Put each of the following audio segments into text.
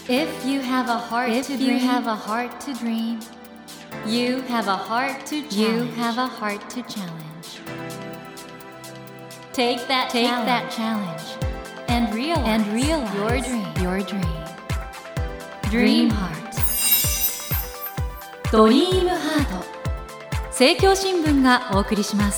If you have a heart to dream, you have a heart to dream. You have a heart to challenge. You have a heart to challenge. Take that challenge and realize your dream. Dream Heart. ドリームハート。政教新聞がお送りします。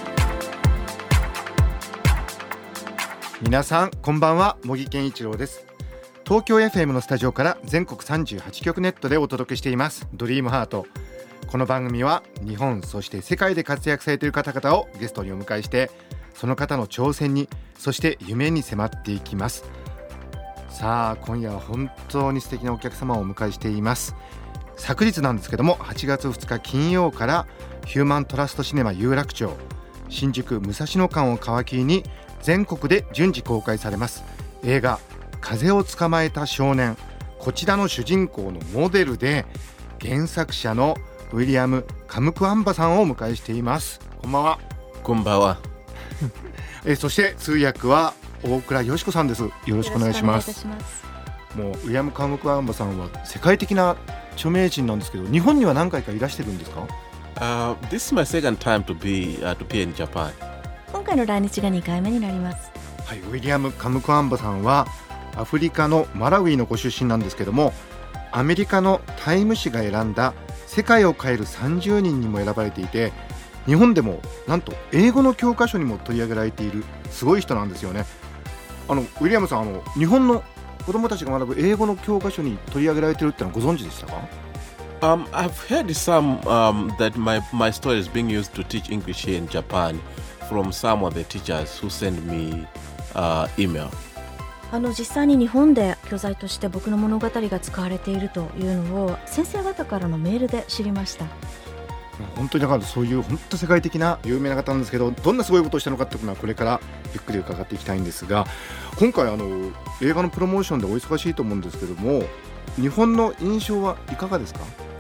皆さんこんばんは、茂木健一郎です。東京 FM のスタジオから全国38局ネットでお届けしていますドリームハート。この番組は日本そして世界で活躍されている方々をゲストにお迎えして、その方の挑戦にそして夢に迫っていきます。さあ今夜は本当に素敵なお客様をお迎えしています。昨日なんですけども、8月2日金曜からヒューマントラストシネマ有楽町新宿武蔵野間を皮切りに全国で順次公開されます映画風を捕まえた少年。こちらの主人公のモデルで原作者のウィリアム・カムクワンバさんをお迎えしています。こんばんは。 こんばんは。 そして通訳は大倉よしこさんです。よろしくお願いします。もうウィリアム・カムクワンバさんは世界的な著名人なんですけど、日本には何回かいらしてるんですか ？This is my second time to be in Japan. 今回の来日が2回目になります。 はい、ウィリアム・カムクワンバさんはアフリカのマラウイのご出身なんですけども、アメリカのタイム誌が選んだ世界を変える30人にも選ばれていて、日本でもなんと英語の教科書にも取り上げられているすごい人なんですよね。ウィリアムさん、日本の子どもたちが学ぶ英語の教科書に取り上げられているってのはご存知でしたか ？I've heard some that my story is being used to teach English here in Japan from some of the teachers who send me email. 実際に日本で教材として僕の物語が使われているというのを先生方からのメールで知りました。 本当にだからそういう本当世界的な有名な方なんですけど、どんなすごいことをしたのかっていうのはこれからゆっくり伺っていきたいんですが、今回映画のプロモーションでお忙しいと思うんですけども、日本の印象はいかがですか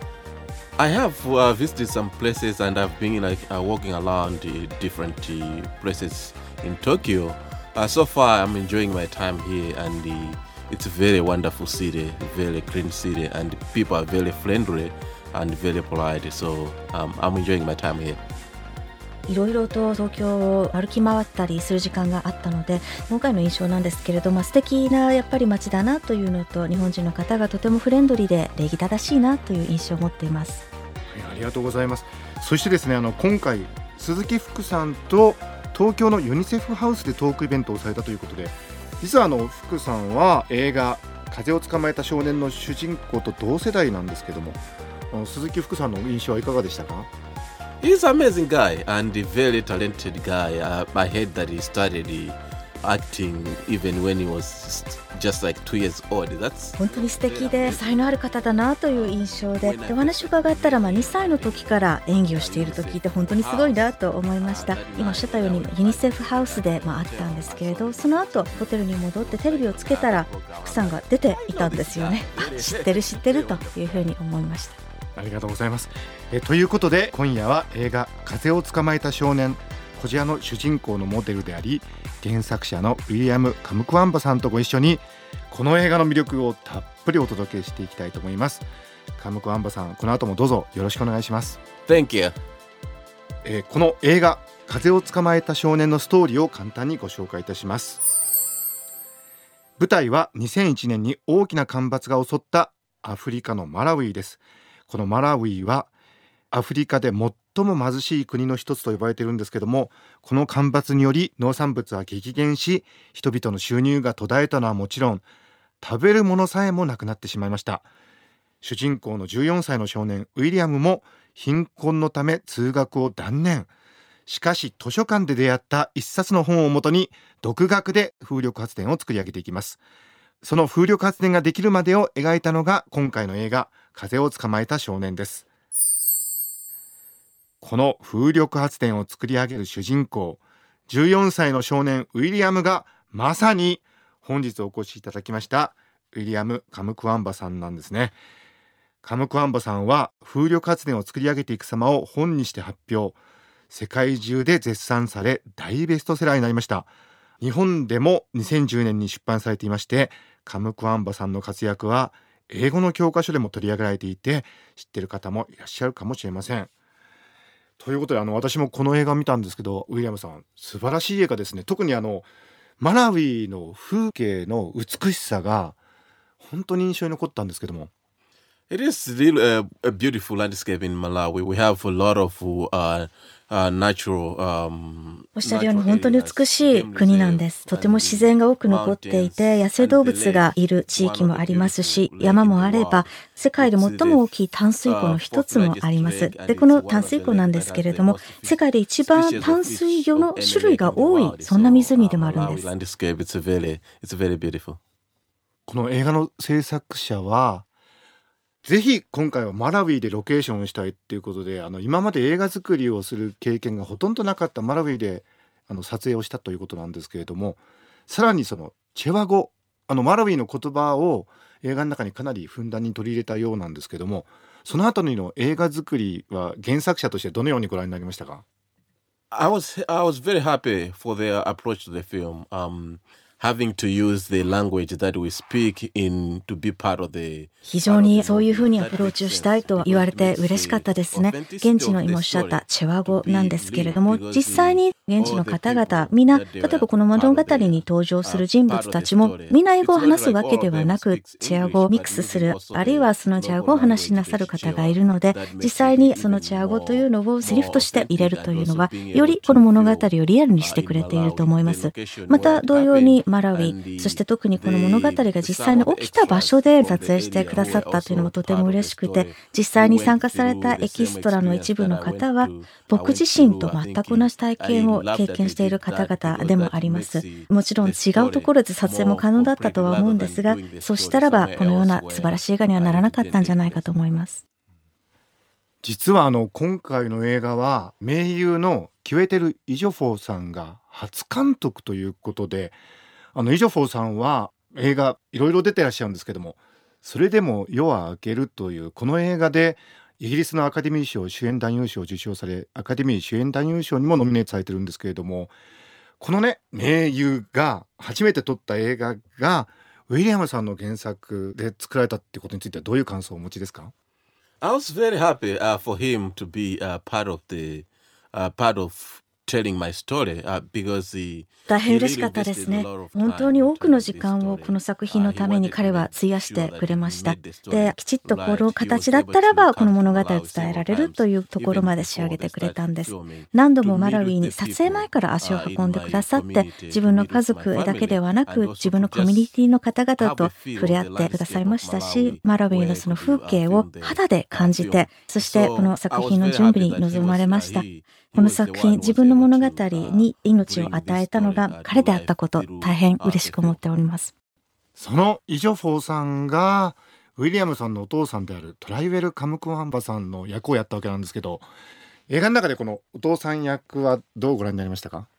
？I have visited some places and I've been walking around different places in Tokyo.So far, I'm enjoying my time here, and it's a very wonderful city, very clean city, and people are very friendly and very polite. So I'm enjoying my time here. いろいろと東京を歩き回ったりする時間があったので、今回の印象なんですけれども、素敵なやっぱり街だなというのと、日本人の方がとてもフレンドリーで礼儀正しいなという印象を持っています。 はい、ありがとうございます。そしてですね、今回鈴木福さんと東京のユニセフハウスでトークイベントをされたということで、実は福さんは映画風を捕まえた少年の主人公と同世代なんですけども、鈴木福さんの印象はいかがでしたか ？He's an amazing guy and a very talented guy. I heard that he started acting even when he was just like 2 years old. 本当に素敵で才能ある方だなという印象で、お話を伺ったら2歳の時から演技をしていると聞いて本当にすごいなと思いました。今おっしゃったようにユニセフハウスであったんですけれど、その後ホテルに戻ってテレビをつけたら福さんが出ていたんですよね。知ってるというふうに思いました。 ありがとうございます。ということで今夜は映画風を捕まえた少年、こちらの主人公のモデルであり原作者のウィリアム・カムクワンバさんとご一緒にこの映画の魅力をたっぷりお届けしていきたいと思います。カムクワンバさん、この後もどうぞよろしくお願いします。 Thank you。 この映画風を捕まえた少年のストーリーを簡単にご紹介いたします。舞台は2001年に大きな干ばつが襲ったアフリカのマラウイです。このマラウイはアフリカで最も貧しい国の一つと呼ばれているんですけども、この干ばつにより農産物は激減し、人々の収入が途絶えたのはもちろん、食べるものさえもなくなってしまいました。主人公の14歳の少年ウィリアムも貧困のため通学を断念。しかし図書館で出会った一冊の本をもとに独学で風力発電を作り上げていきます。その風力発電ができるまでを描いたのが今回の映画風を捕まえた少年です。この風力発電を作り上げる主人公14歳の少年ウィリアムがまさに本日お越しいただきましたウィリアム・カムクワンバさんなんですね。カムクワンバさんは風力発電を作り上げていく様を本にして発表、世界中で絶賛され大ベストセラーになりました。 日本でも2010年に出版されていまして、カムクワンバさんの活躍は英語の教科書でも取り上げられていて、知っている方もいらっしゃるかもしれません。ということで私もこの映画を見たんですけど、ウィリアムさん素晴らしい映画ですね。特にマラウイの風景の美しさが本当に印象に残ったんですけども。 It is really a beautiful landscape in Malawi. We have a lot of natural. おっしゃるように本当に美しい国なんです。とても自然が多く残っていて、野生動物がいる地域もありますし、山もあれば、世界で最も大きい淡水湖の一つもあります。で、この淡水湖なんですけれども、世界で一番淡水魚の種類が多い、そんな湖でもあるんです。 この映画の制作者は、ぜひ今回はマラウイでロケーションをしたいっていうことで、今まで映画作りをする経験がほとんどなかったマラウイで撮影をしたということなんですけれども、さらにそのチェワ語、マラウイの言葉を映画の中にかなりふんだんに取り入れたようなんですけども、その後の映画作りは原作者としてどのようにご覧になりましたか？ I was very happy for their approach to the film. Having to use the language that we speak in to be part of the 非常にそういうふうにアプローチをしたいと言われて嬉しかったですね。現地の今おっしゃったチェワ語なんですけれども、実際に現地の方々みんな、例えばこの物語に登場する人物たちもみんな英語を話すわけではなく、チェワ語をミックスする、あるいはそのチェワ語を話しなさる方がいるので、実際にそのチェワ語というのをセリフとして入れるというのは、よりこの物語をリアルにしてくれていると思います。また同様にマラウイ、そして特にこの物語が実際に起きた場所で撮影してくださったというのもとても嬉しくて、実際に参加されたエキストラの一部の方は僕自身と全く同じ体験を経験している方々でもあります。もちろん違うところで撮影も可能だったとは思うんですが、そうしたらばこのような素晴らしい映画にはならなかったんじゃないかと思います。 実は今回の映画は名優のキュエテル・イジョフォーさんが初監督ということで、イジョフォーさんは映画いろいろ出てらっしゃるんですけども、それでも夜は明けるというこの映画でイギリスのアカデミー賞主演男優賞を受賞され、アカデミー主演男優賞にもノミネートされてるんですけれども、このね名優が初めて撮った映画がウィリアムさんの原作で作られたっていうことについてはどういう感想をお持ちですか？ I was very happy for him to be part of telling my story because he 大変嬉しかったですね。本当に多くの時間をこの作品のために彼は費やしてくれました。で、きちっとこの形だったらばこの物語を伝えられるというところまで仕上げてくれたんです。何度もマラウイに撮影前から足を運んでくださって、自分の家族だけではなく自分のコミュニティの方々と触れ合ってくださいましたし、マラウイのその風景を肌で感じて、そしてこの作品の準備に臨まれました。この作品、自分の物語に命を与えたのが彼であったこと、大変嬉しく思っております。 そのイジョフォーさんがウィリアムさんのお父さんであるトライウェル・カムクワンバさんの役をやったわけなんですけど、映画の中でこのお父さん役はどうご覧になりましたか？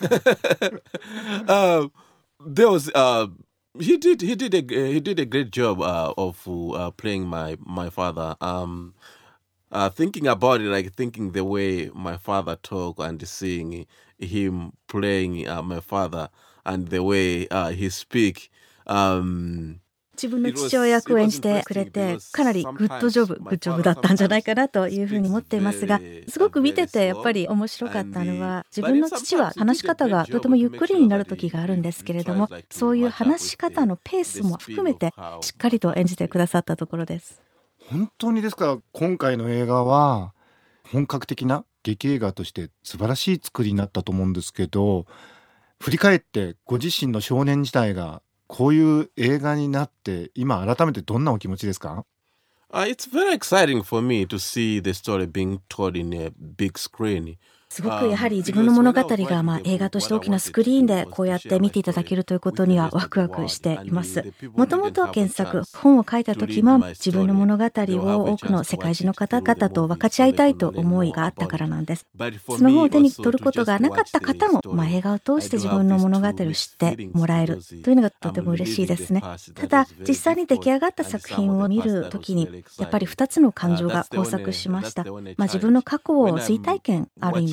There was he did a great job of playing my father. Thinking about it, like thinking the way my father talk and seeing him playing my father and the way he speak. 自分の父親役を演じてくれて、かなりグッドジョブだったんじゃないかなというふうに思っていますが、すごく見ててやっぱり面白かったのは、自分の父は話し方がとてもゆっくりになる時があるんですけれども、そういう話し方のペースも含めてしっかりと演じてくださったところです。 本当にですから今回の映画は本格的な劇映画として素晴らしい作りになったと思うんですけど、振り返ってご自身の少年時代がこういう映画になって今改めてどんなお気持ちですか ？It's very exciting for me to see the story being told in a big screen. すごくやはり自分の物語が映画として大きなスクリーンでこうやって見ていただけるということにはワクワクしています。もともと原作本を書いた時も自分の物語を多くの世界中の方々と分かち合いたいと思いがあったからなんです。その本を手に取ることがなかった方も、映画を通して自分の物語を知ってもらえるというのがとても嬉しいですね。ただ実際に出来上がった作品を見る時にやっぱり2つの感情が交錯しました。自分の過去を追体験ある意味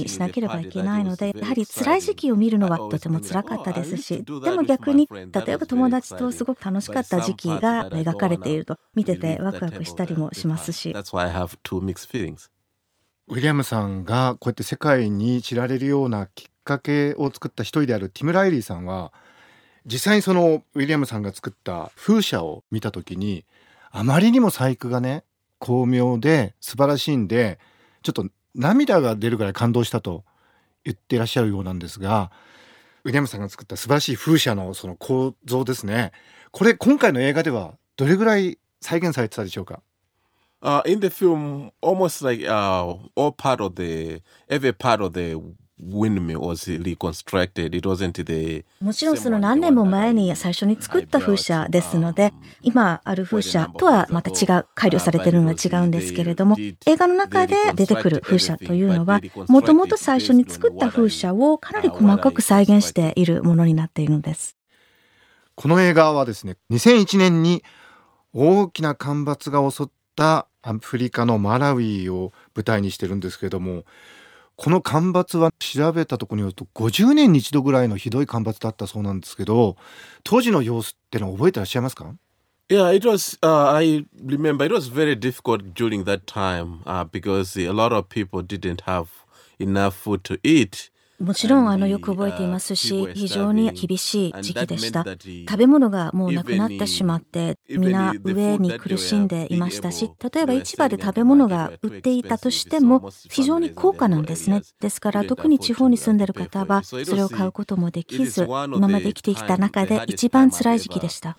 しなければいけないので、やはり辛い時期を見るのはとても辛かったですし、でも逆に例えば友達とすごく楽しかった時期が描かれていると見ててワクワクしたりもしますし。 That's why I have two mixed feelings. ウィリアムさんがこうやって世界に知られるようなきっかけを作った一人であるティム・ライリーさんは、実際にそのウィリアムさんが作った風車を見た時に、あまりにも細工がね巧妙で素晴らしいんで、ちょっと涙が出るぐらい感動したと言っていらっしゃるようなんですが、ウィリアムさんが作った素晴らしい風車のその構造ですね、これ今回の映画ではどれぐらい再現されてたでしょうか。 In the film, almost like every part of the windmill was reconstructed. It wasn't the もちろんその何年も前に最初に作った風車ですので、今ある風車とはまた違う、改良されているのは違うんですけれども、映画の中で出てくる風車というのは、もともと最初に作った風車をかなり細かく再現しているものになっているのです。 この映画はですね、2001年に大きな干ばつが襲ったアフリカのマラウイを舞台にしてるんですけれども、この干ばつは調べたところによると50年に一度ぐらいのひどい干ばつだったそうなんですけど、当時の様子ってのを覚えてらっしゃいますか？ Yeah, it was. I remember it was very difficult during that time because a lot of people didn't have enough food to eat. もちろんよく覚えていますし、非常に厳しい時期でした。食べ物がもうなくなってしまって、皆飢えに苦しんでいましたし、例えば市場で食べ物が売っていたとしても非常に高価なんですね。ですから特に地方に住んでいる方はそれを買うこともできず、今まで生きてきた中で一番辛い時期でした。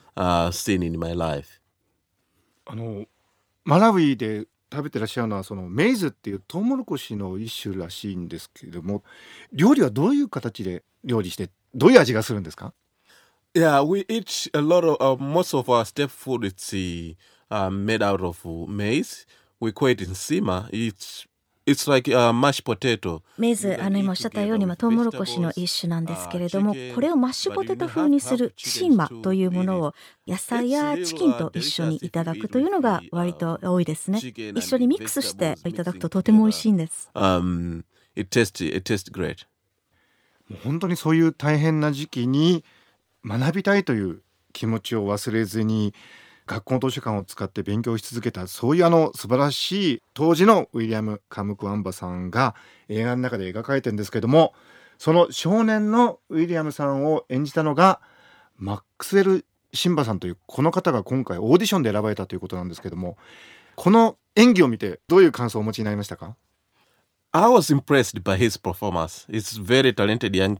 マラウイで食べてらっしゃるのはそのメイズっていうトウモロコシの一種らしいんですけれども、料理はどういう形で料理してどういう味がするんですか？ Yeah, we eat a lot of most of our step food is made out of maize. We call it nsima. It's like mashed potato. メイズ、今おっしゃったようにトウモロコシの一種なんですけれども、これをマッシュポテト風にするシンマというものを野菜やチキンと一緒にいただくというのが割と多いですね。一緒にミックスしていただくととても美味しいんです。 It tastes great. もう本当にそういう大変な時期に学びたいという気持ちを忘れずに学校の図書館を使って勉強し続けた、そういう素晴らしい当時のウィリアム・カムクワンバさんが映画の中で描かれてるんですけども、その少年のウィリアムさんを演じたのがマックスウェル・シンバさんというこの方が今回オーディションで選ばれたということなんですけども、この演技を見てどういう感想をお持ちになりましたか？ I was impressed by his performance. He's very talented young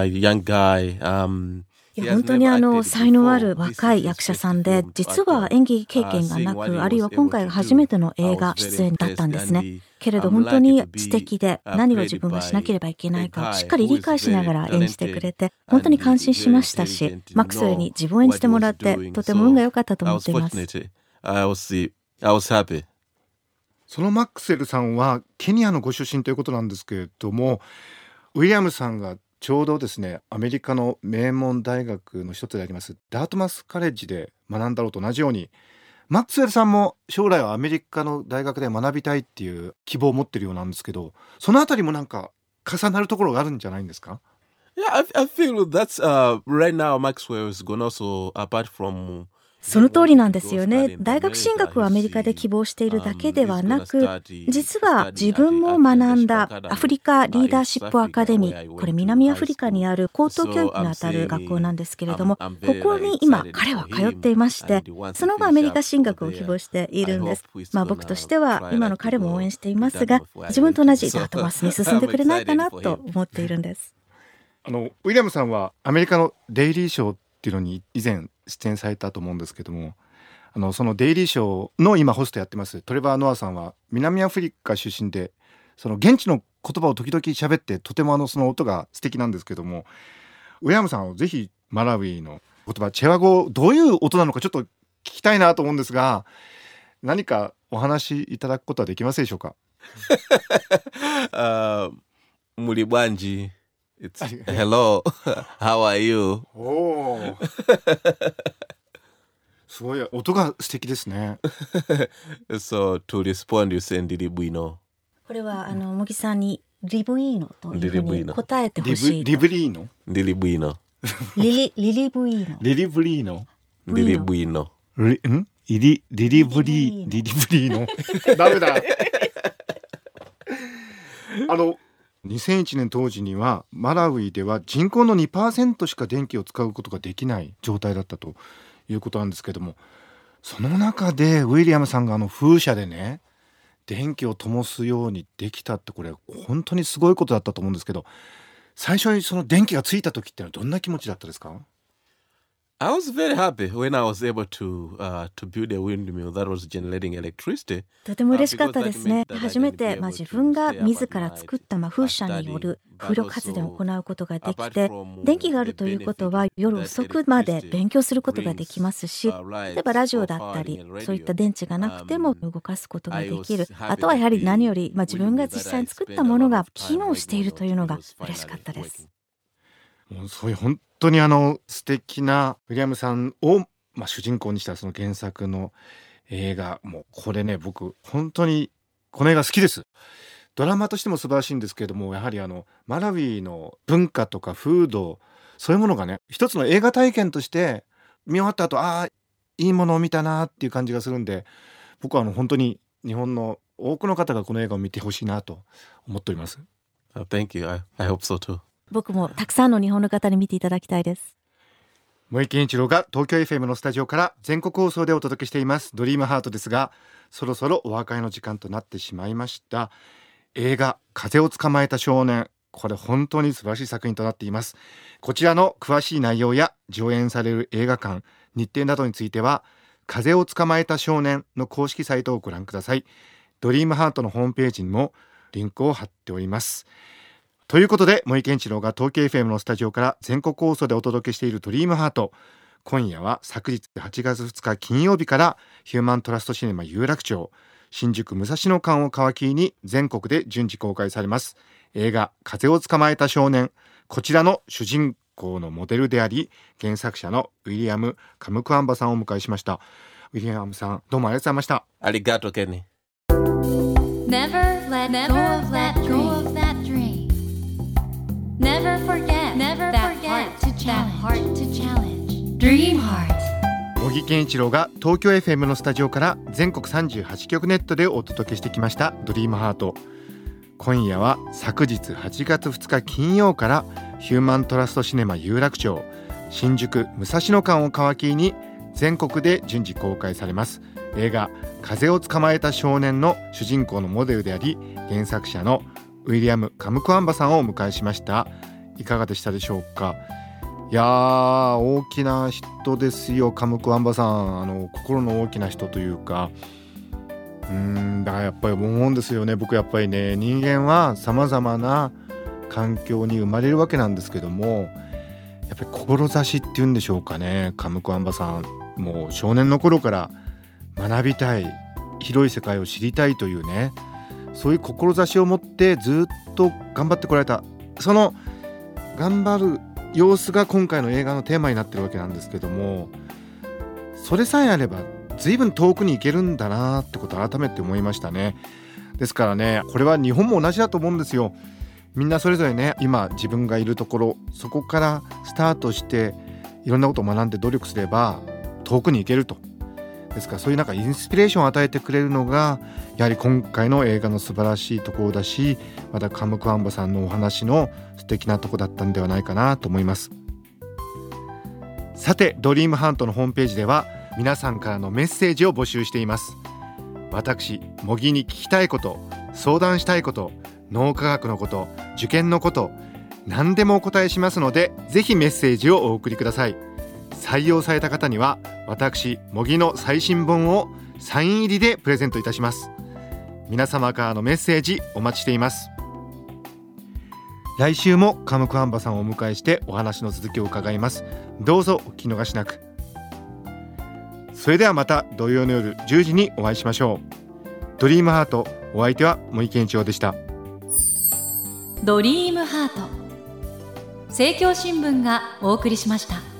guy. いや本当に才能ある若い役者さんで、実は演技経験がなく、あるいは今回が初めての映画出演だったんですね。けれど本当に素敵で、何を自分がしなければいけないかをしっかり理解しながら演じてくれて、本当に感心しましたし、マックスウェルに自分を演じてもらってとても運が良かったと思っています。 I was happy. そのマックスウェルさんはケニアのご出身ということなんですけれども、ウィリアムさんがちょうどですね、アメリカの名門大学の一つでありますダートマスカレッジで学んだろうと同じように、マックスウェルさんも将来はアメリカの大学で学びたいっていう希望を持ってるようなんですけど、そのあたりもなんか重なるところがあるんじゃないんですか？ Yeah, I feel that's right now Maxwell is going also apart from その通りなんですよね。大学進学をアメリカで希望しているだけではなく、実は自分も学んだアフリカリーダーシップアカデミー、これ南アフリカにある高等教育にあたる学校なんですけれども、ここに今彼は通っていまして、その後アメリカ進学を希望しているんです。僕としては今の彼も応援していますが、自分と同じダートマスに進んでくれないかなと思っているんです。 ウィリアムさんはアメリカのデイリーショーっていうのに以前出演されたと思うんですけども、そのデイリーショーの今ホストやってますトレバー・ノアさんは南アフリカ出身で、その現地の言葉を時々喋って、とてもその音が素敵なんですけども、ウィリアムさんをぜひマラウイの言葉チェワ語どういう音なのかちょっと聞きたいなと思うんですが、何かお話しいただくことはできますでしょうか？ ムリバンジIt's hello, how are you? すごい音が素敵ですね。 So to respond, you send it, we know. これは茂木さんにリブイーノというふうに答えてほしい。 リブリーノリリブイノ。 リリブイーノ。 リリブリーノリリブイノ。 リリブリーノダメだ2001年当時にはマラウイでは人口の 2% しか電気を使うことができない状態だったということなんですけども、その中でウィリアムさんが風車でね電気を灯すようにできたって、これ本当にすごいことだったと思うんですけど、最初にその電気がついた時ってのはどんな気持ちだったですか？ I was very happy when I was able to build a windmill that was generating electricity. とても嬉しかったですね。初めて、自分が自ら作った風車による風力発電を行うことができて、電気があるということは夜遅くまで勉強することができますし、例えばラジオだったりそういった電池がなくても動かすことができる。あとはやはり何より、自分が実際に作ったものが機能しているというのが嬉しかったです。 もうそういう本当に素敵なウィリアムさんを、主人公にしたその原作の映画、もうこれね僕本当にこの映画好きです。ドラマとしても素晴らしいんですけれども、やはりマラウイの文化とか風土、そういうものがね一つの映画体験として見終わった後、いいものを見たなっていう感じがするんで、僕は本当に日本の多くの方がこの映画を見てほしいなと思っております。 Thank you. I hope so too. 僕もたくさんの日本の方に見ていただきたいです。 森健一郎が東京 FM のスタジオから全国放送でお届けしていますドリームハートですが、そろそろお別れの時間となってしまいました。映画風を捕まえた少年、これ本当に素晴らしい作品となっています。こちらの詳しい内容や上演される映画館、日程などについては風を捕まえた少年の公式サイトをご覧ください。ドリームハートのホームページにもリンクを貼っております。ということで森健一郎が東京 FM のスタジオから全国放送でお届けしているドリームハート、今夜は昨日8月2日金曜日からヒューマントラストシネマ有楽町新宿武蔵野間を皮切りに全国で順次公開されます映画風を捕まえた少年、こちらの主人公のモデルであり原作者のウィリアム・カムクアンバさんをお迎えしました。ウィリアムさん、どうもありがとうございました。 ありがとう、ケニー。 Never let go of that dream. Never forget that heart to challenge. Dream Heart. 茂木健一郎が東京 FM のスタジオから全国38局ネットでお届けしてきましたドリームハート。今夜は昨日8月2日金曜からヒューマントラストシネマ有楽町新宿武蔵野間を皮切りに全国で順次公開されます映画風を捕まえた少年の主人公のモデルであり原作者のウィリアム・カムクアンバさんをお迎えしました。いかがでしたでしょうか。いやー、大きな人ですよ、カムクアンバさん。心の大きな人というか、だからやっぱり思うんですよね。僕やっぱりね、人間はさまざまな環境に生まれるわけなんですけども、やっぱり志っていうんでしょうかね。カムクアンバさん、もう少年の頃から学びたい、広い世界を知りたいというね、そういう志を持ってずっと頑張ってこられた、その頑張る様子が今回の映画のテーマになってるわけなんですけども、それさえあれば随分遠くに行けるんだなってことを改めて思いましたね。ですからね、これは日本も同じだと思うんですよ。みんなそれぞれね、今自分がいるところ、そこからスタートしていろんなことを学んで努力すれば遠くに行けると。ですからそういうインスピレーションを与えてくれるのがやはり今回の映画の素晴らしいところだし、またカムクアンバさんのお話の素敵なところだったんではないかなと思います。さて、ドリームハントのホームページでは皆さんからのメッセージを募集しています。私、茂木に聞きたいこと、相談したいこと、脳科学のこと、受験のこと、何でもお答えしますので、ぜひメッセージをお送りください。採用された方には私茂木の最新本をサイン入りでプレゼントいたします。皆様からのメッセージお待ちしています。来週もカムクアンバさんをお迎えしてお話の続きを伺います。どうぞお聞き逃しなく。それではまた土曜の夜10時にお会いしましょう。ドリームハート、お相手は森健一郎でした。 ドリームハート、政教新聞がお送りしました。